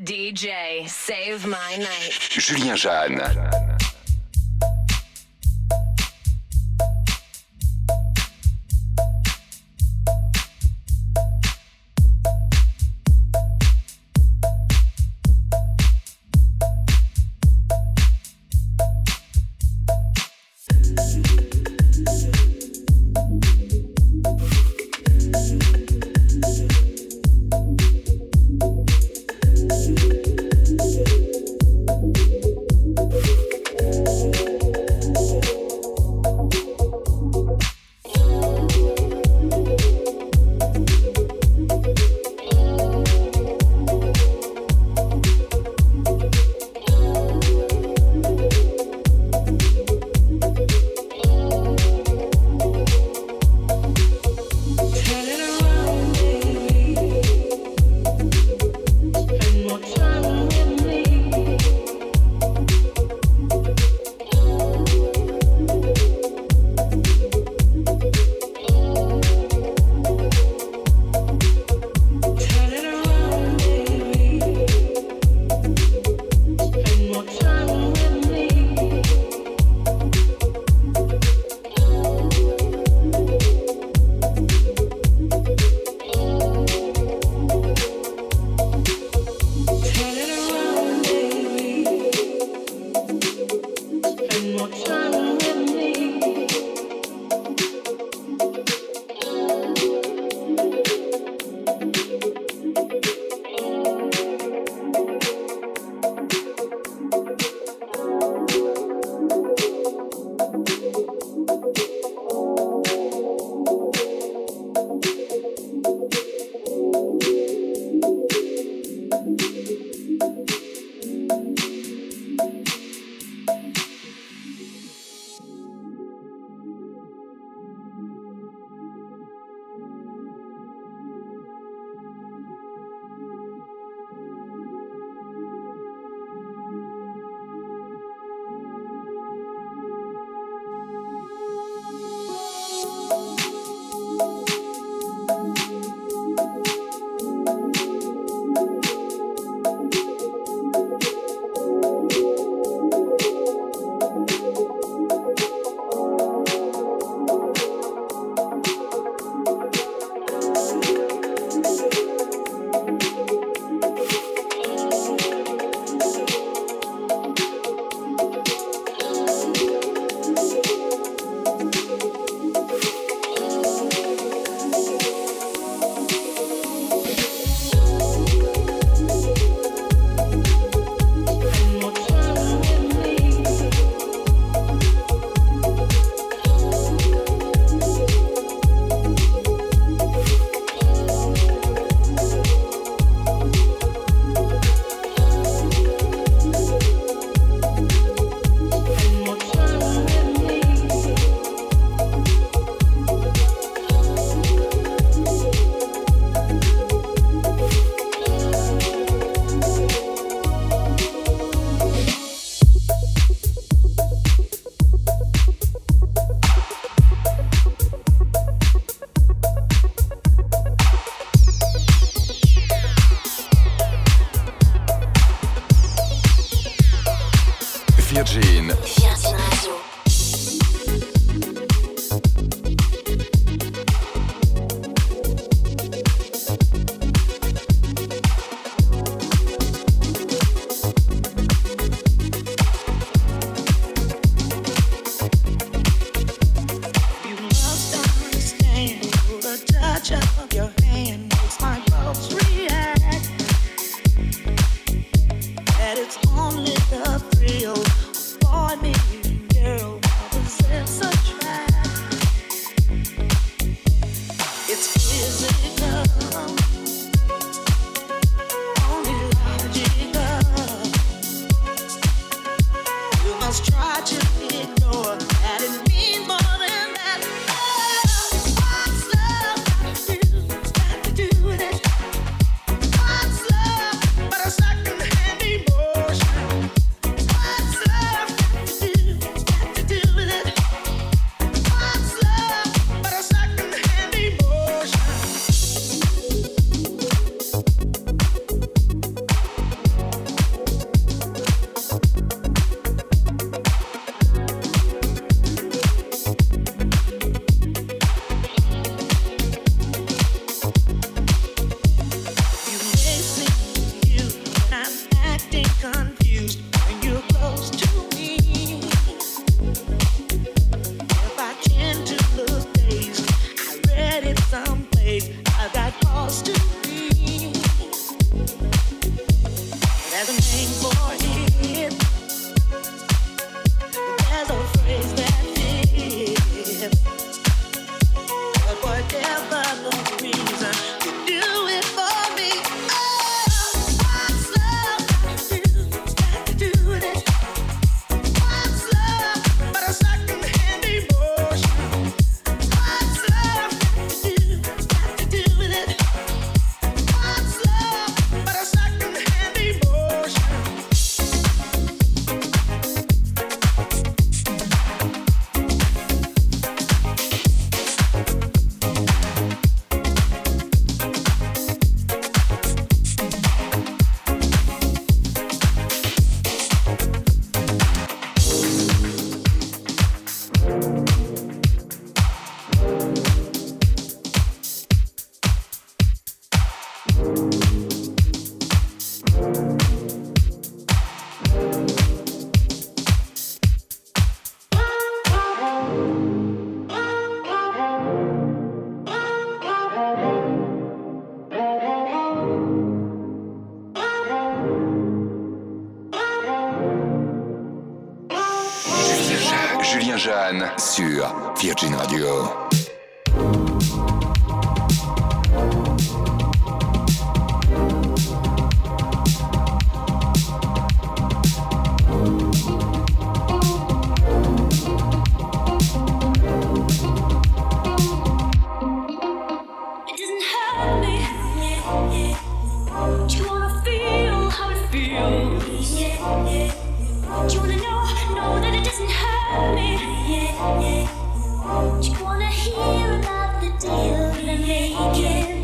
DJ, save my night. Julien Jeanne. Virgin Radio. But a second hand emotion. There's a name for it. There's a phrase that fits. But whatever the reason, you do it for me. Oh, what's love got to do with it? What's love but a second-hand emotion? What's love got to do with it? What's love but a second-hand emotion? Julien Jeanne sur Virgin Radio. It doesn't hurt me. Do you wanna feel how it feels? Do you wanna know that it doesn't hurt me? Do you wanna hear about the deal that I'm making?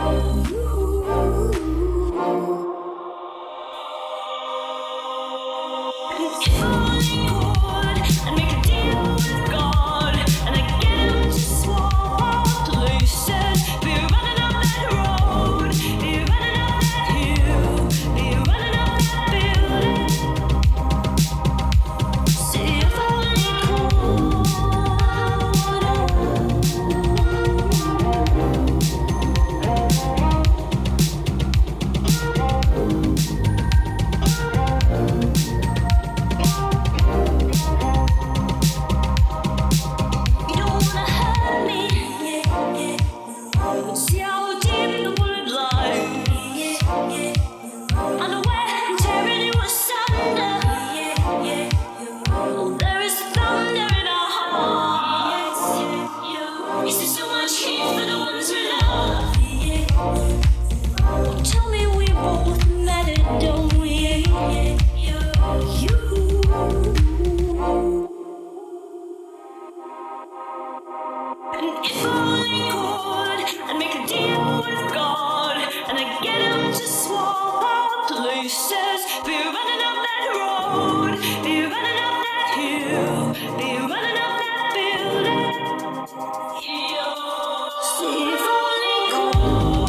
If only could, I'd make a deal with God, and I'd get him to swap places. Be running up that road, be running up that hill, be running up that building. See if only could. You don't wanna hurt me. See how deep the bullet lies. Unaware and tearing you asunder. There is thunder in our hearts. Is there so much heat for the ones we love? Tell me we both matter, don't we? You. If only could, I'd make a deal with God, and I'd get him to swap our places. Be running up that road, be running up that hill, be running up that building. See if only could.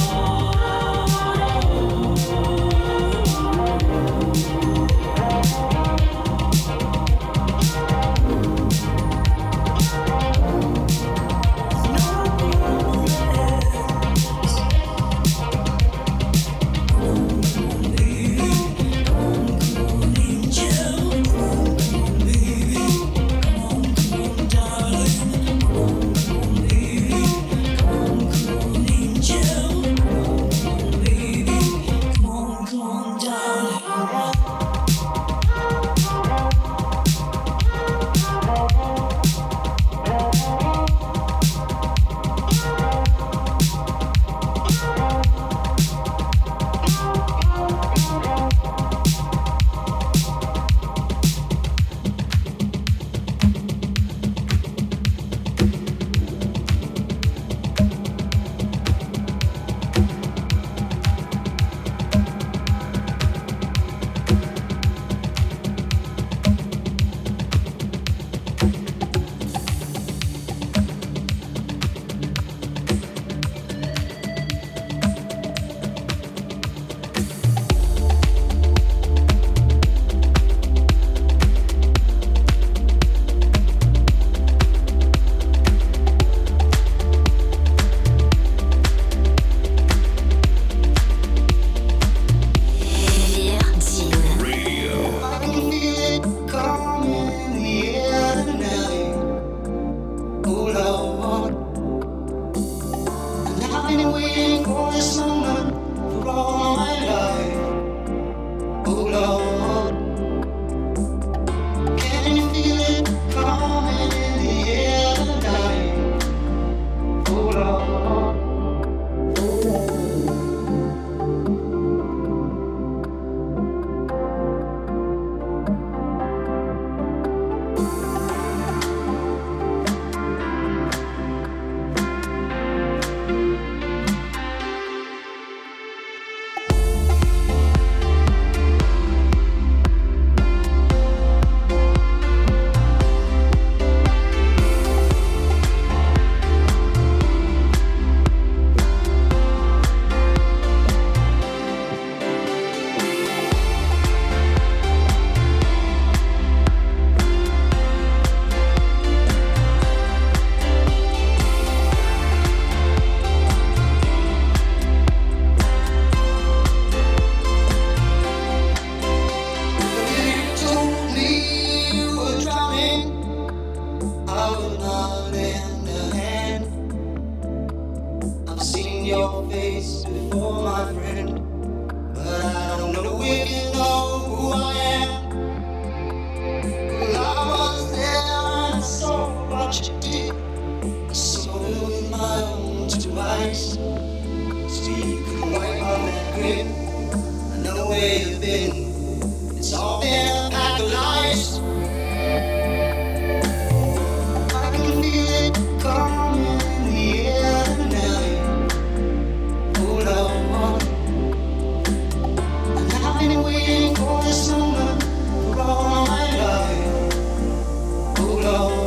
you've been. It's all been a pack of lies. I can feel it coming in the air tonight. Hold on. And I've been waiting for this moment for all my life. Hold on.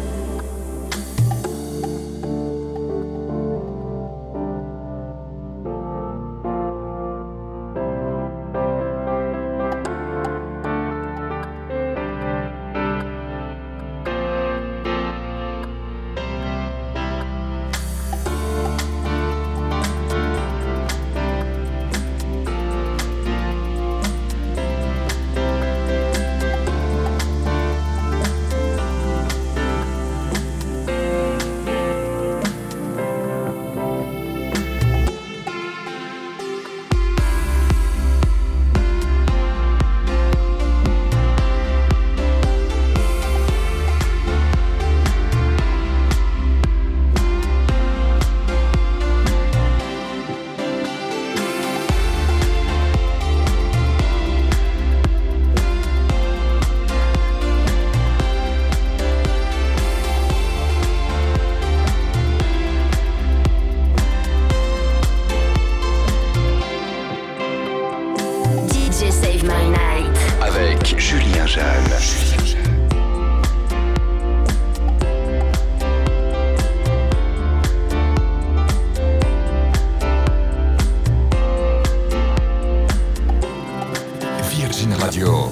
Julien Jeanne. Virgin Radio.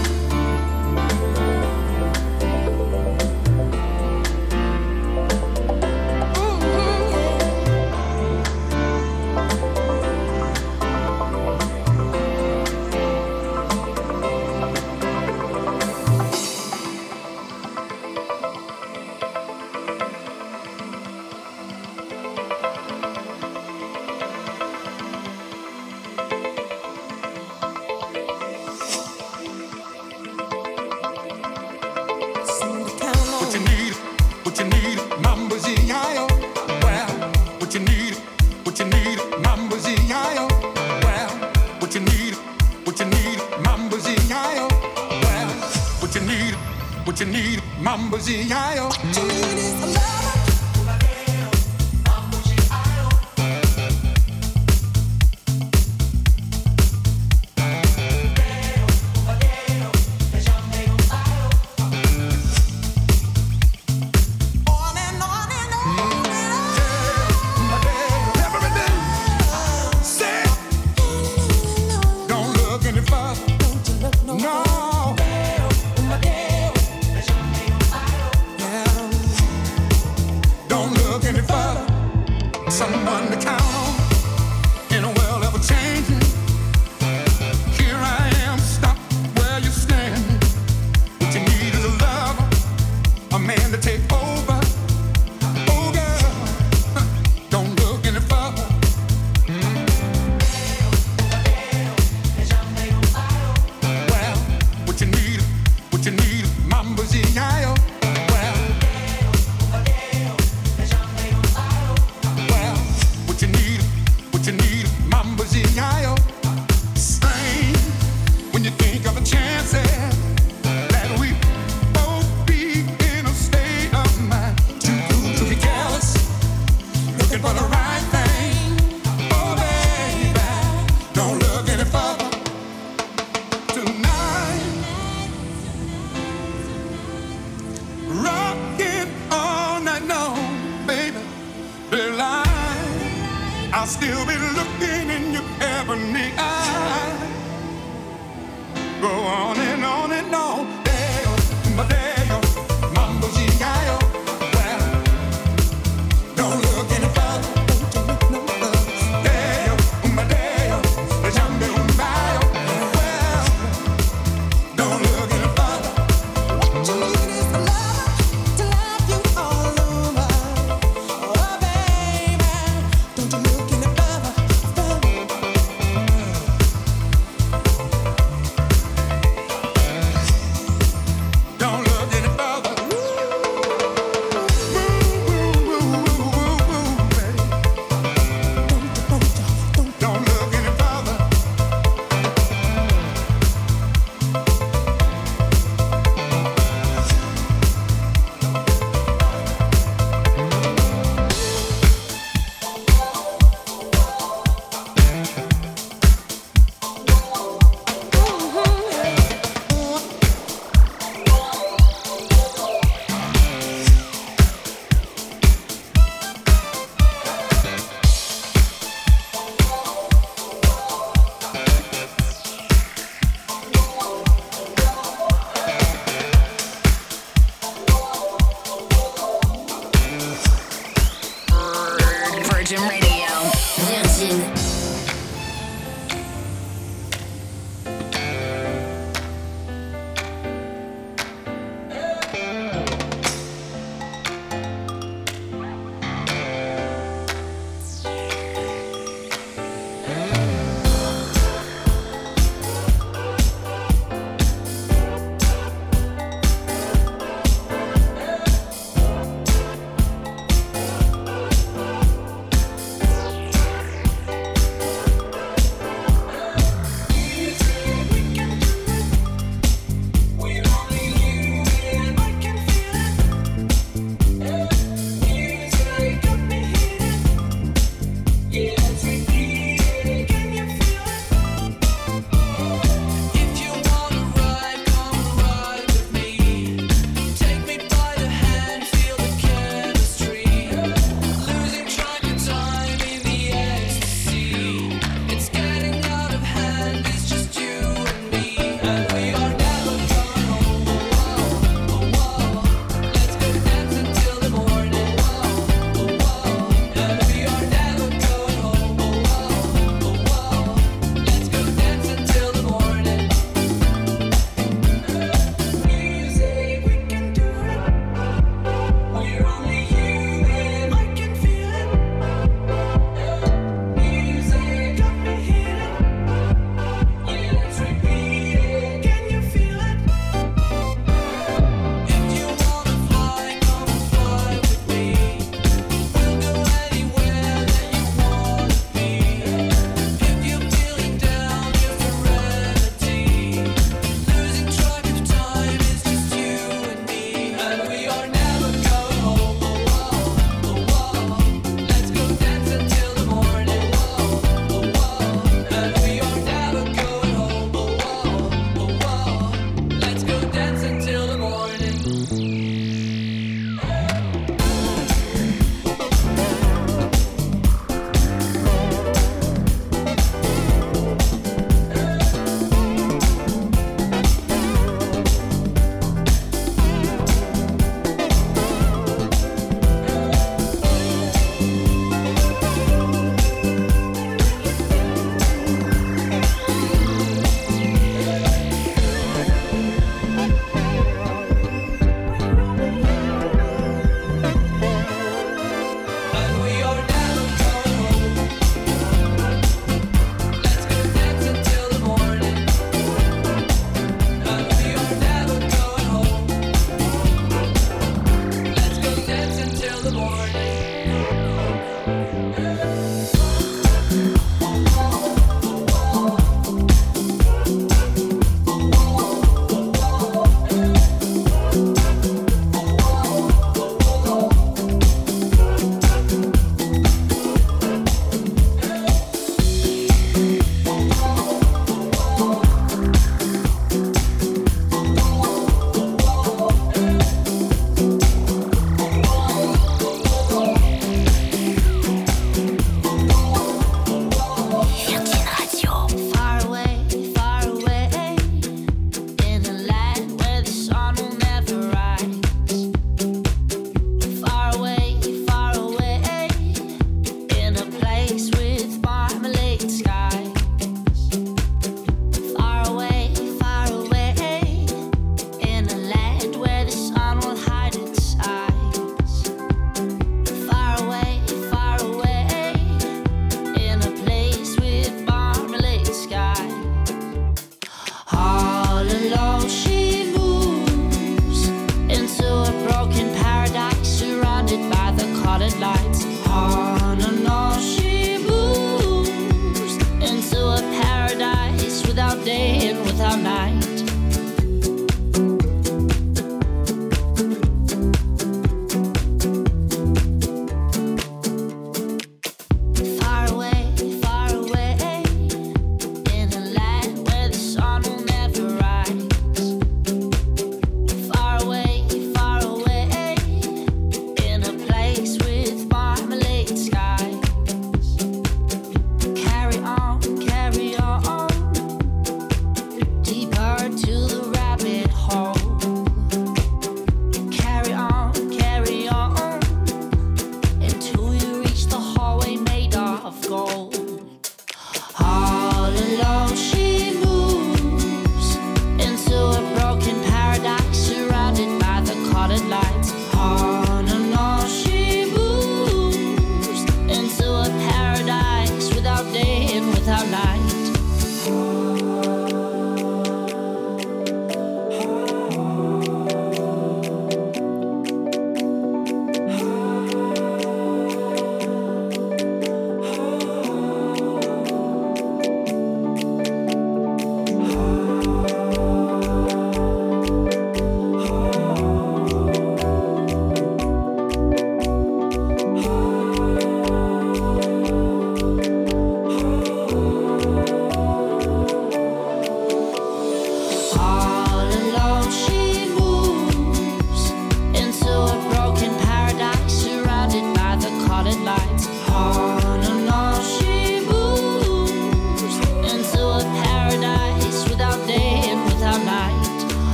Mambo-Z-I-O.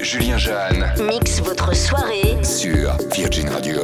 Julien Jeanne. Mix votre soirée Sur Virgin Radio.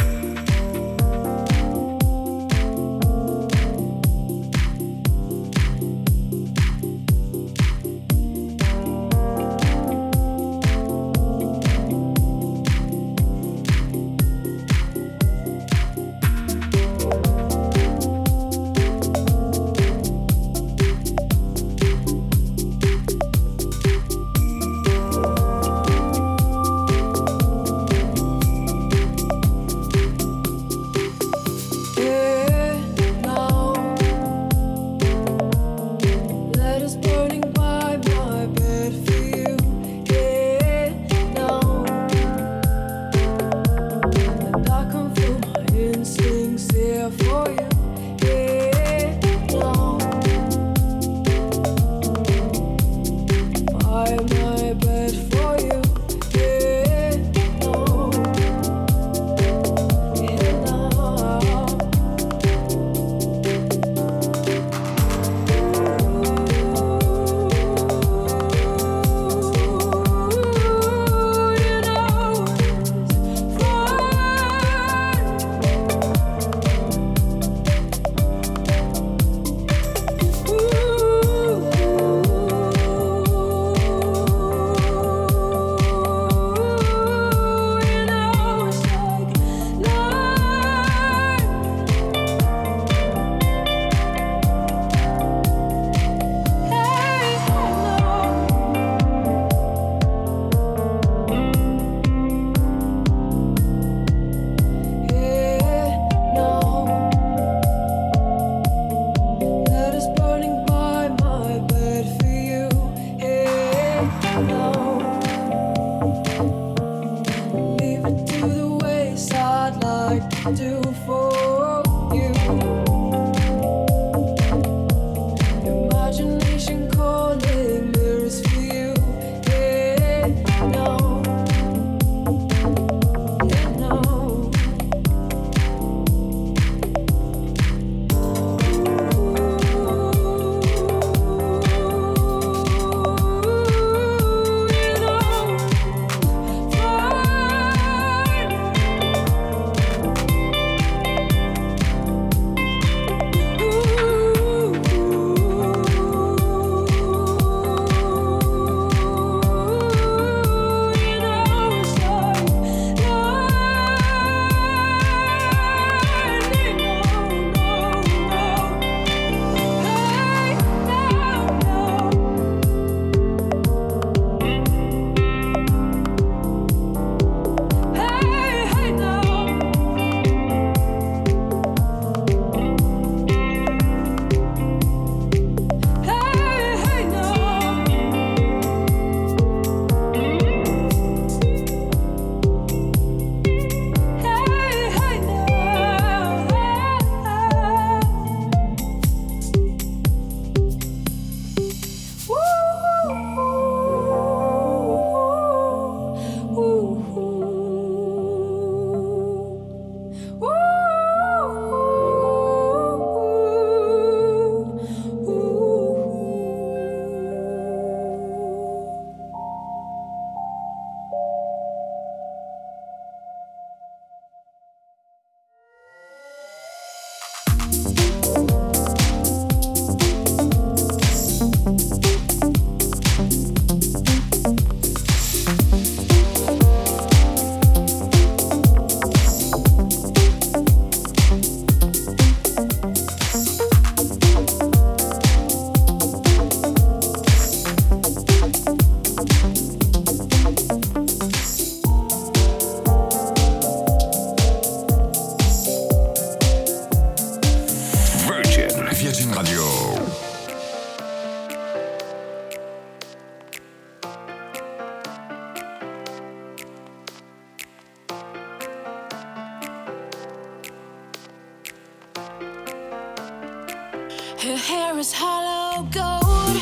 Her hair is hollow gold.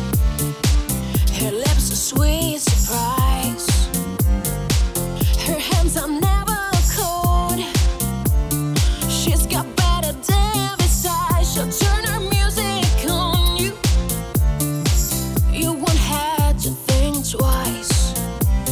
Her lips a sweet surprise. Her hands are never cold. She's got better than besides. She'll turn her music on you. You won't have to think twice.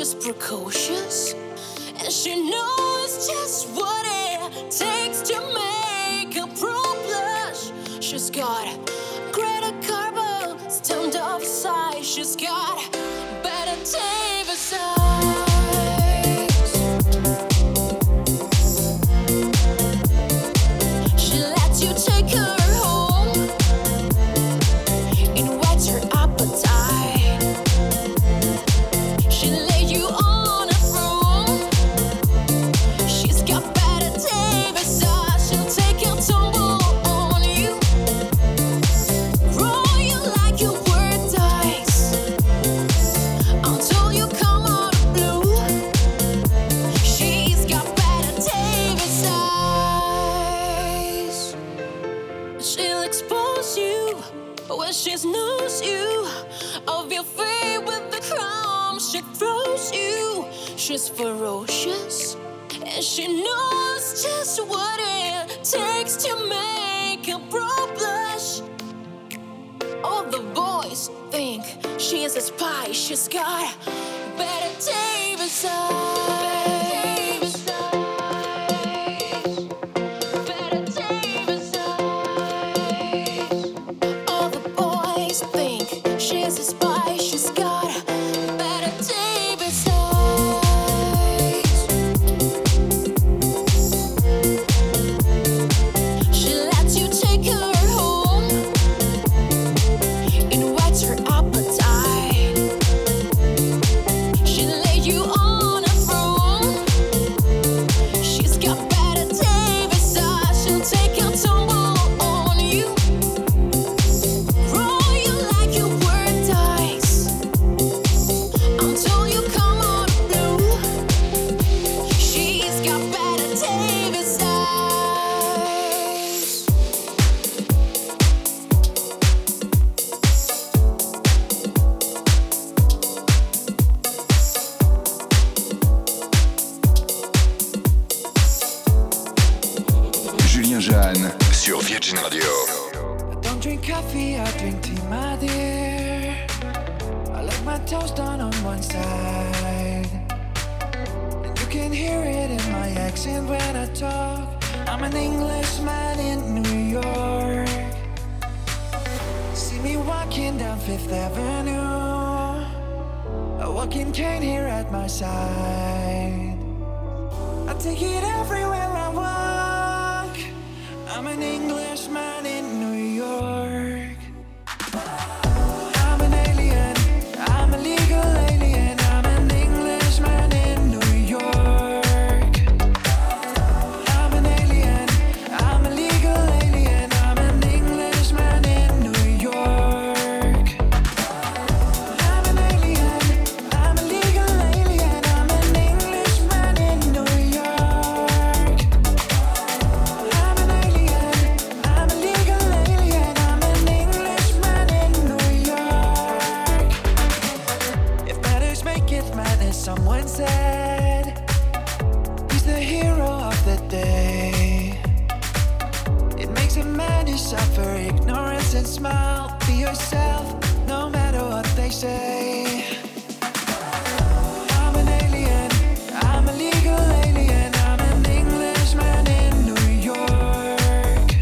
she's precocious, and she knows just what it takes to make a pro blush. She's got Greta Garbo stamped off size. She's got Bette Davis eyes. She lets you take her home. It whets her appetite. She lay you on a throne. She's got Bette Davis eyes. She'll take a tumble on you, roll you like you were dice, until you come out of blue. She's got Bette Davis eyes. She'll expose you when she knows you of your fate with the crumbs she throws you. She's ferocious, and she knows just what it takes to make a pro blush. All the boys think she is a spy. She's got Bette Davis eyes. Bette Davis eyes. All the boys think she's a spy. She's got Bette Davis eyes. She lets you take her home. It whets her appetite. She lay you on a throne. She's got Bette Davis eyes. She'll take a tumble on you, roll you like you were dice, until you come out of blue. She's got Bette Davis eyes. Julien Jeanne sur Virgin Radio. I don't drink coffee, I drink tea, my dear. I like my toast done on one side, and you can hear it in my accent when I talk. I'm an Englishman in New York. See me walking down Fifth Avenue, a walking cane here at my side. I take it everywhere I walk. I'm an Englishman in New York. I'm an alien, I'm a legal alien. I'm an Englishman in New York. I'm an alien, I'm a legal alien. I'm an Englishman in New York. I'm an alien, I'm a legal alien. I'm an Englishman in New York. I'm an alien, I'm a legal alien. I'm an Englishman in New York. If matters make it madness, someone said he's the hero of the day. It makes a man who suffer ignorance and smile. Be yourself, no matter what they say. I'm an alien, I'm a legal alien. I'm an Englishman in New York.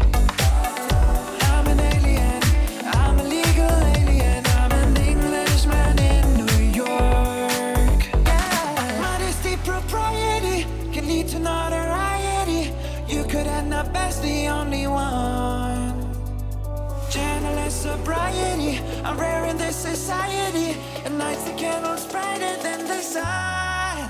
I'm an alien, I'm a legal alien. I'm an Englishman in New York. Yeah. Modesty, propriety can lead to notoriety. You could end up as the only one. Journalist sobriety, I'm rare in this society. At nights the candle's brighter than the sun.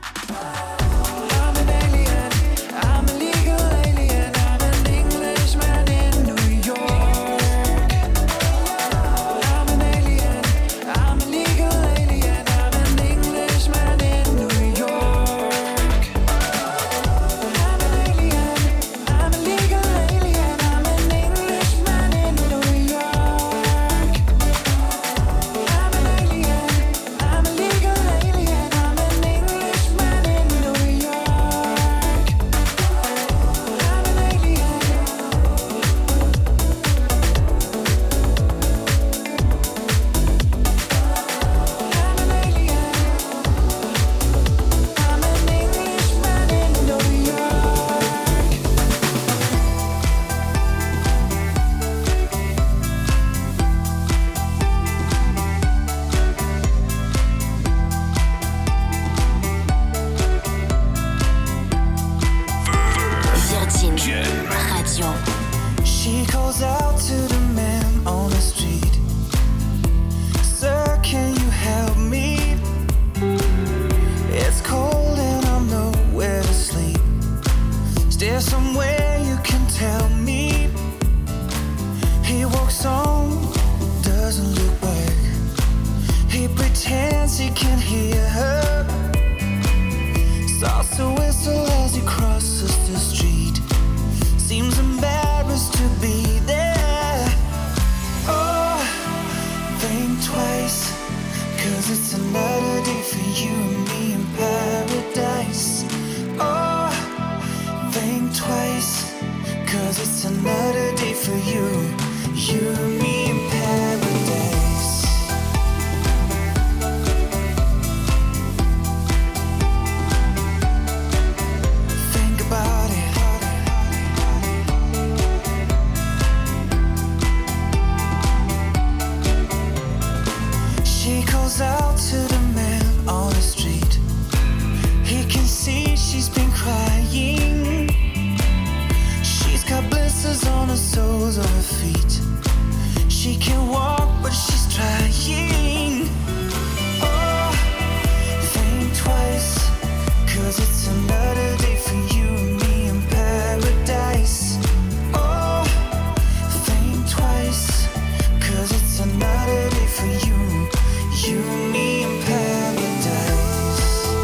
I'm an alien, I'm a legal alien. I'm an Englishman in New York. I'm an alien, I'm a legal alien. I'm an Englishman in New York. I'm an alien, I'm a legal alien. I'm an Englishman in New York. I'm an alien, I'm a legal alien. I'm an can hear her. Starts to whistle as he crosses the street. Seems embarrassed to be there. Oh, think twice, 'cause it's another day for you and me in paradise. Oh, think twice, 'cause it's another day for you, you and me in paradise. Think about it. She calls out to the man on the street. He can see she's been crying. She's got blisters on the soles of her feet. She can walk, but she's trying. Oh, think twice, 'cause it's another day for you and me in paradise. Oh, think twice, 'cause it's another day for you, you and me in paradise.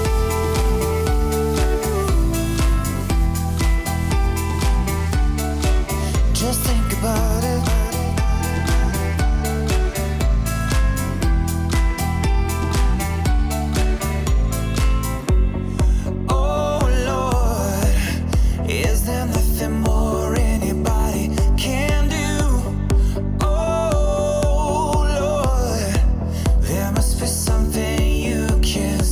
Just think about it. Oh Lord, is there nothing more anybody can do? Oh Lord, there must be something you can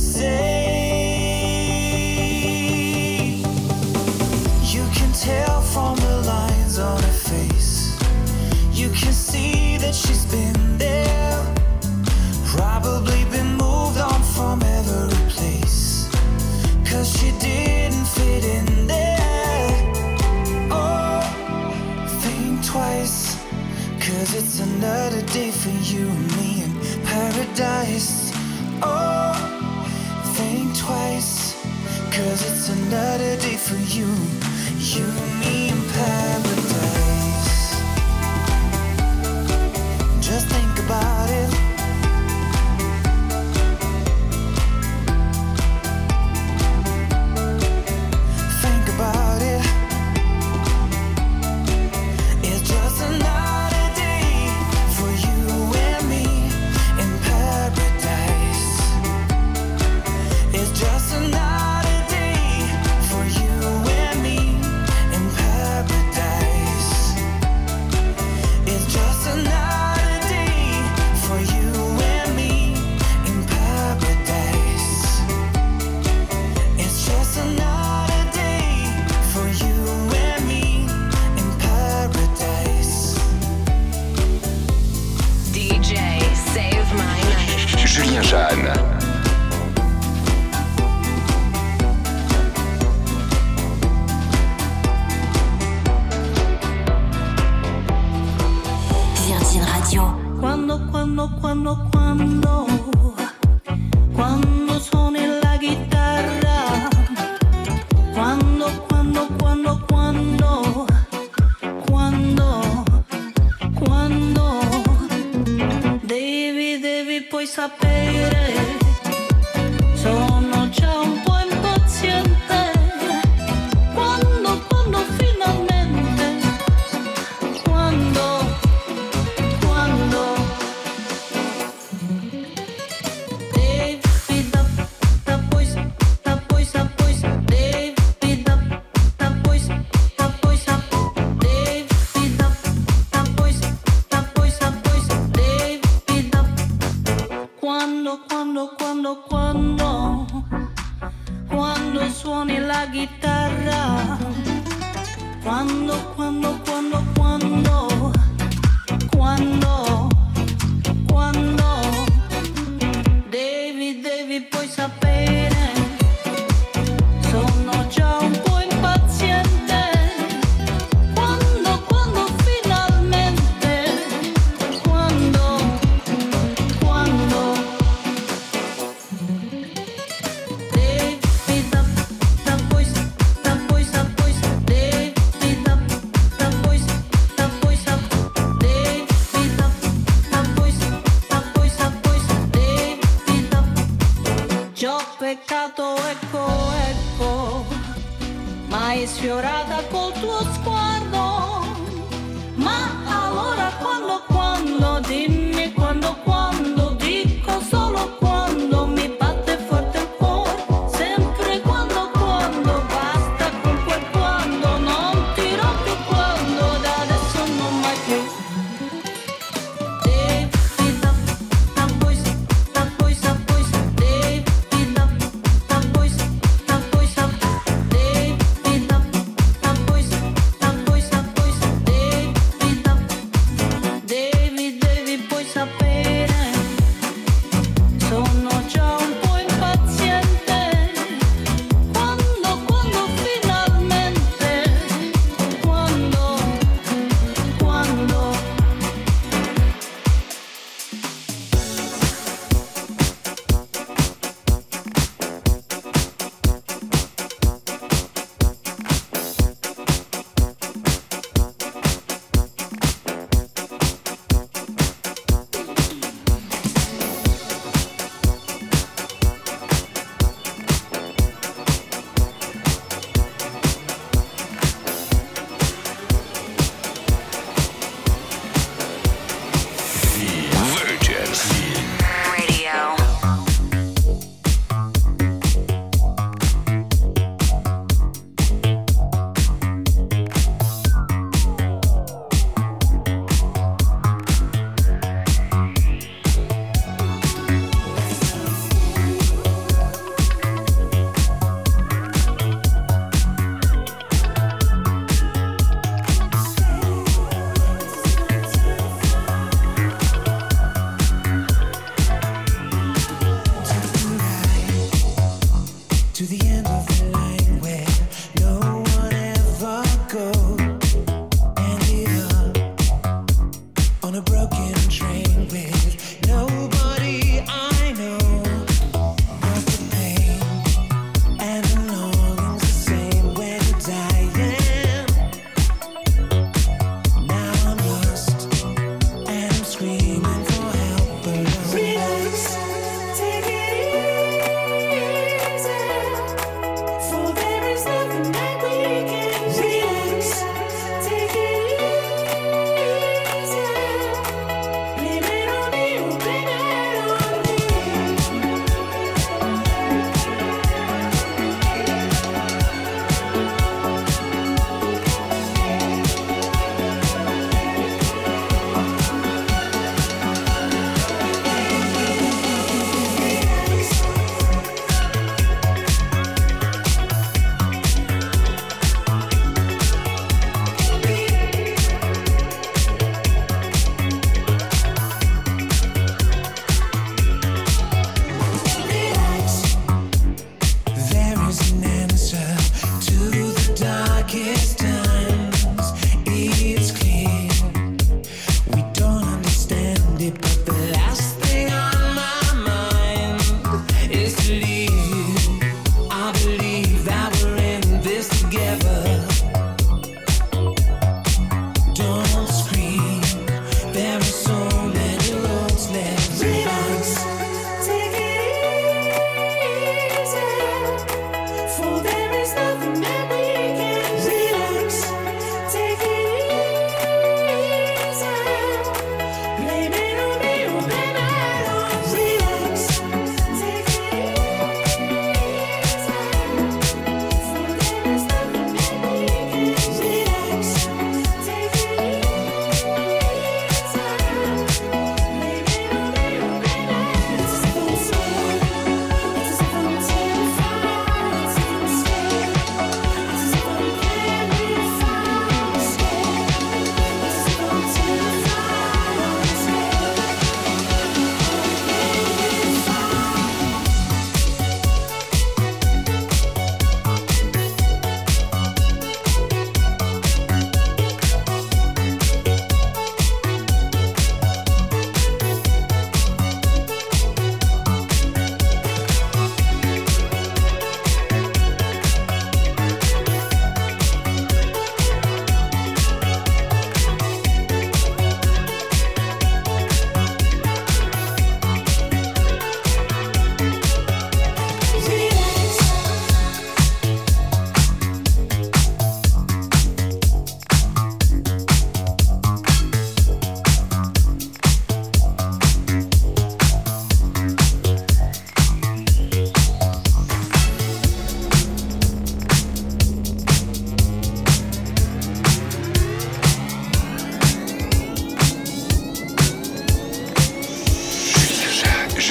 say. You can tell from the lines on her face. You can see that she's been there. Probably been moved on from every place, 'cause she didn't fit in there. Oh, think twice, 'cause it's another day for you and me in paradise. Oh, think twice, 'cause it's another day for you, you and me in paradise. Just think about it. Think about it. It's just another day for you and me in paradise. It's just another day for you and me in paradise. It's just another day for you and me in paradise. It's just another day for you and me in paradise. DJ Save My Night. Julien Jeanne. Virgin Radio. Quando suoni la chitarra, quando devi poi sapere, sono già un po' impaziente, quando finalmente, quando devi da poi devi da poi devi da poi devi da quando suoni la chitarra, quando devi poi sapere, sono già un po' impaziente, quando finalmente, quando devi da poi devi da poi peccato, ecco, ecco, mai sfiorata col tuo sguardo. Ma allora quando, dimmi quando, dico solo quando, mi batte forte il cuore, sempre quando, basta con quel quando, non dirò più quando, da adesso non mai più.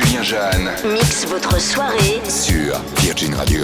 Julien Jeanne Mixe votre soirée sur Virgin Radio.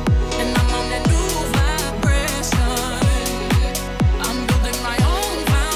Foundation. I'm building my own foundation.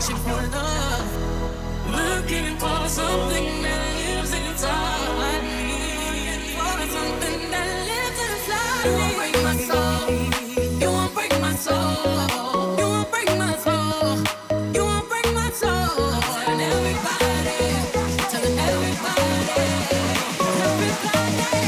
searching for love, looking for something that lives inside me, for something that lives inside me. You won't break my soul. You won't break my soul. You won't break my soul. You won't break my soul. And everybody, telling everybody, everybody.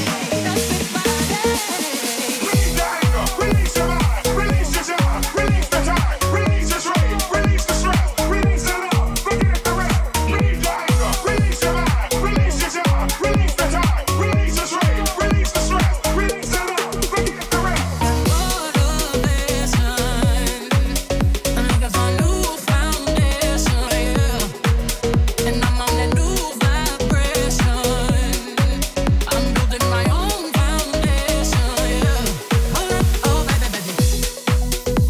Release your mind, release your job, release the time, release your stress, release the stress, release the love, forget the rest. Release your anger, release your mind, release your job, release the time, release your stress, release the stress, release the love, forget the rest. Motivation, I'm looking for a new foundation, yeah. And I'm on that new vibration. I'm building my own foundation, yeah. Oh, baby, baby.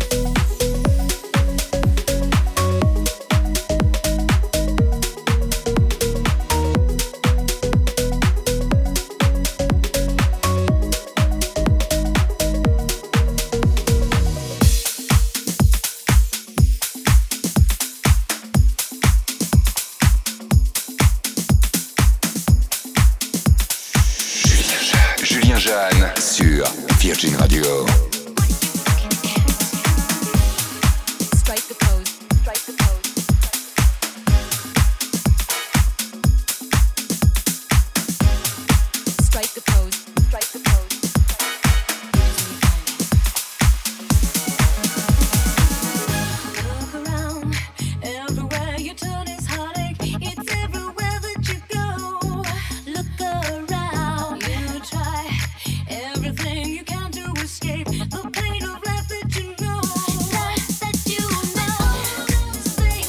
Julien Jeanne sur Virgin Radio. Strike the pose, strike the pose. Strike the pose, strike the pose. Look around, everywhere you turn is heartache. It's everywhere that you go. Look around, you try everything you can to escape the pain of life that you know. That you know. Say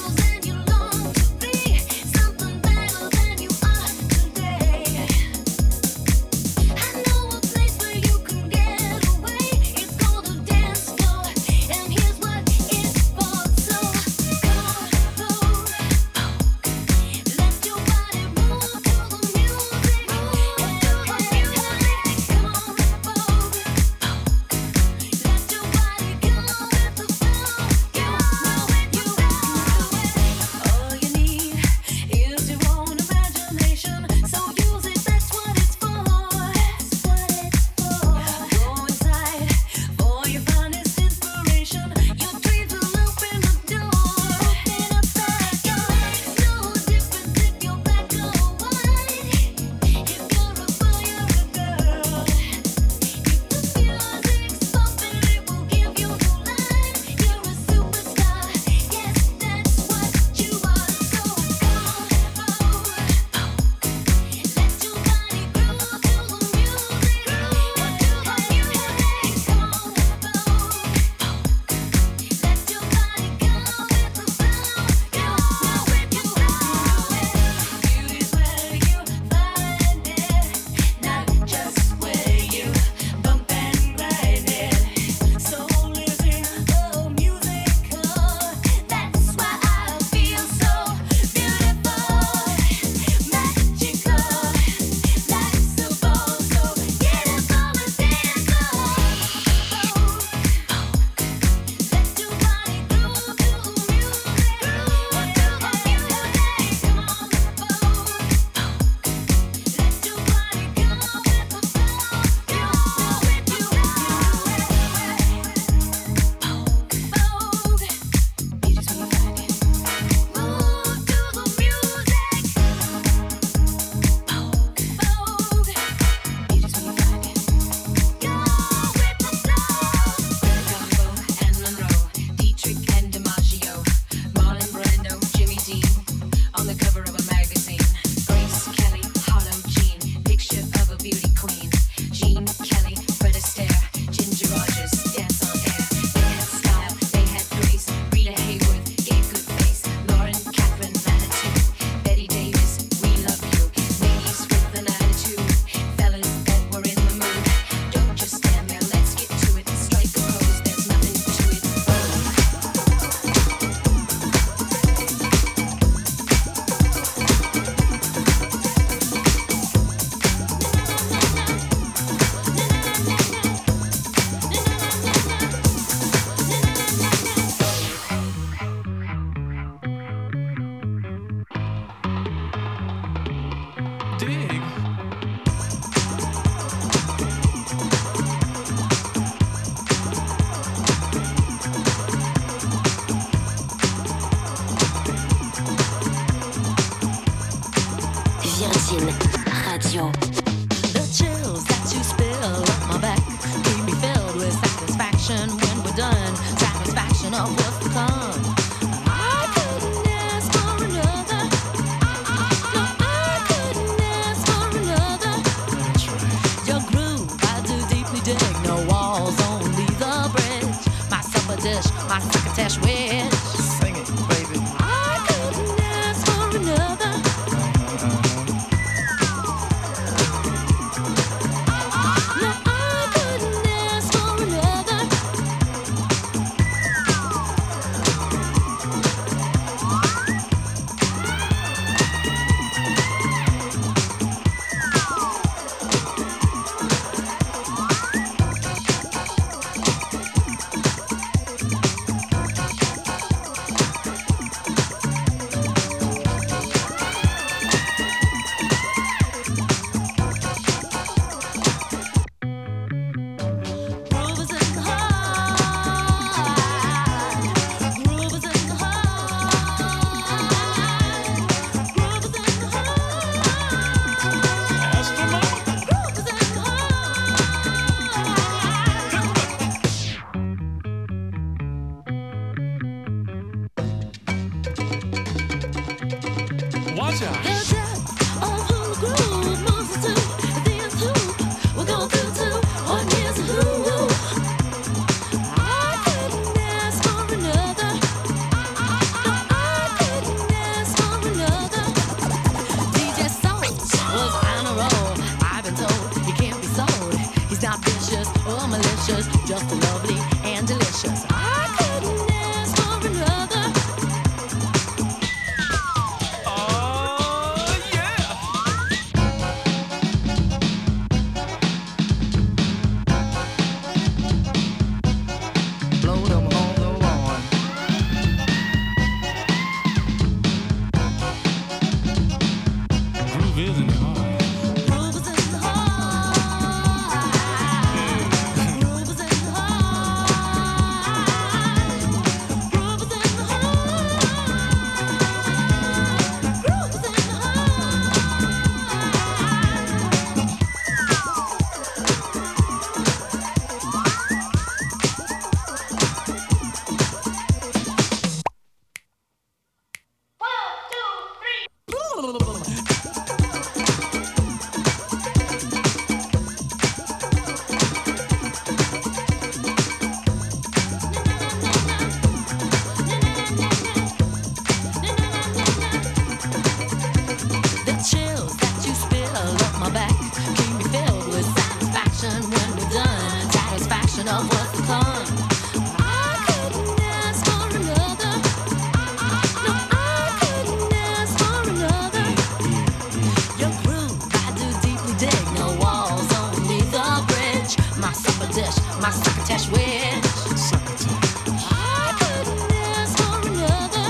succotash wish. Sing it, baby. I couldn't ask for another. No, I couldn't ask for another. Groovers in the heart. Groovers in the heart. Groovers in the heart. Ask for more. Groovers in the Watch out. The depth of who groove moves us to the nth hoop. We're going through to what is who. I couldn't ask for another. No, I couldn't ask for another. DJ Soul was on a roll. I've been told he can't be sold. He's not vicious or malicious, just lovely and delicious. I couldn't ask for another. Oh, yeah. Blow them on the lawn. Groove is in the heart. Groovers in the heart. Groovers in the heart. Groovers in the heart. Groovers in the The chills that you spill up my back keep me filled with satisfaction when we're done. Satisfaction of what's to come. I couldn't ask for another. No, I couldn't ask for another. Your groove, I do deeply dig. No walls, only the bridge. My supper dish, my succotash wish. Succotash. I couldn't ask for another.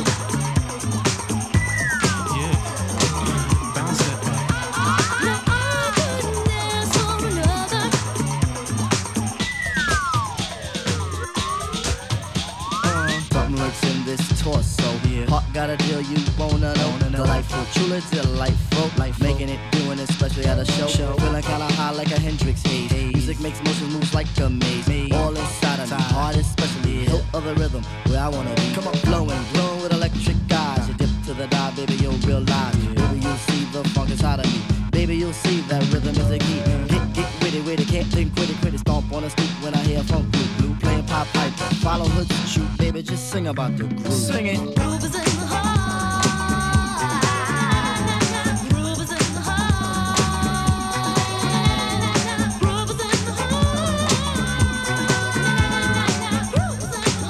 Yeah. Bounce that back. No, I couldn't ask for another. Something lurks in this torso. Heart got a deal you wanna know. Delightful, truly delightful. Making it, doing it, especially at a show. Feeling kinda high like a Hendrix haze. Music makes motion moves like a maze. All inside of me, heart especially. Hilt of the rhythm, where I wanna be. Come on, flowing, glowing with electric eyes. You dip to the dive, baby, you'll realize. Baby, you'll see the funk inside of me. Baby, you'll see that rhythm is a key. Get witty, can't think quitty. Stomp on a stoop when I hear funk blue. Playing pop pipe, follow hood shoot, baby, just sing about the groove. Sing it. Groovers in the heart. Groovers in the heart. Groovers in the heart. Groovers in the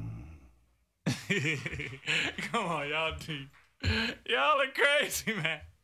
Come on, y'all deep. Y'all are crazy, man.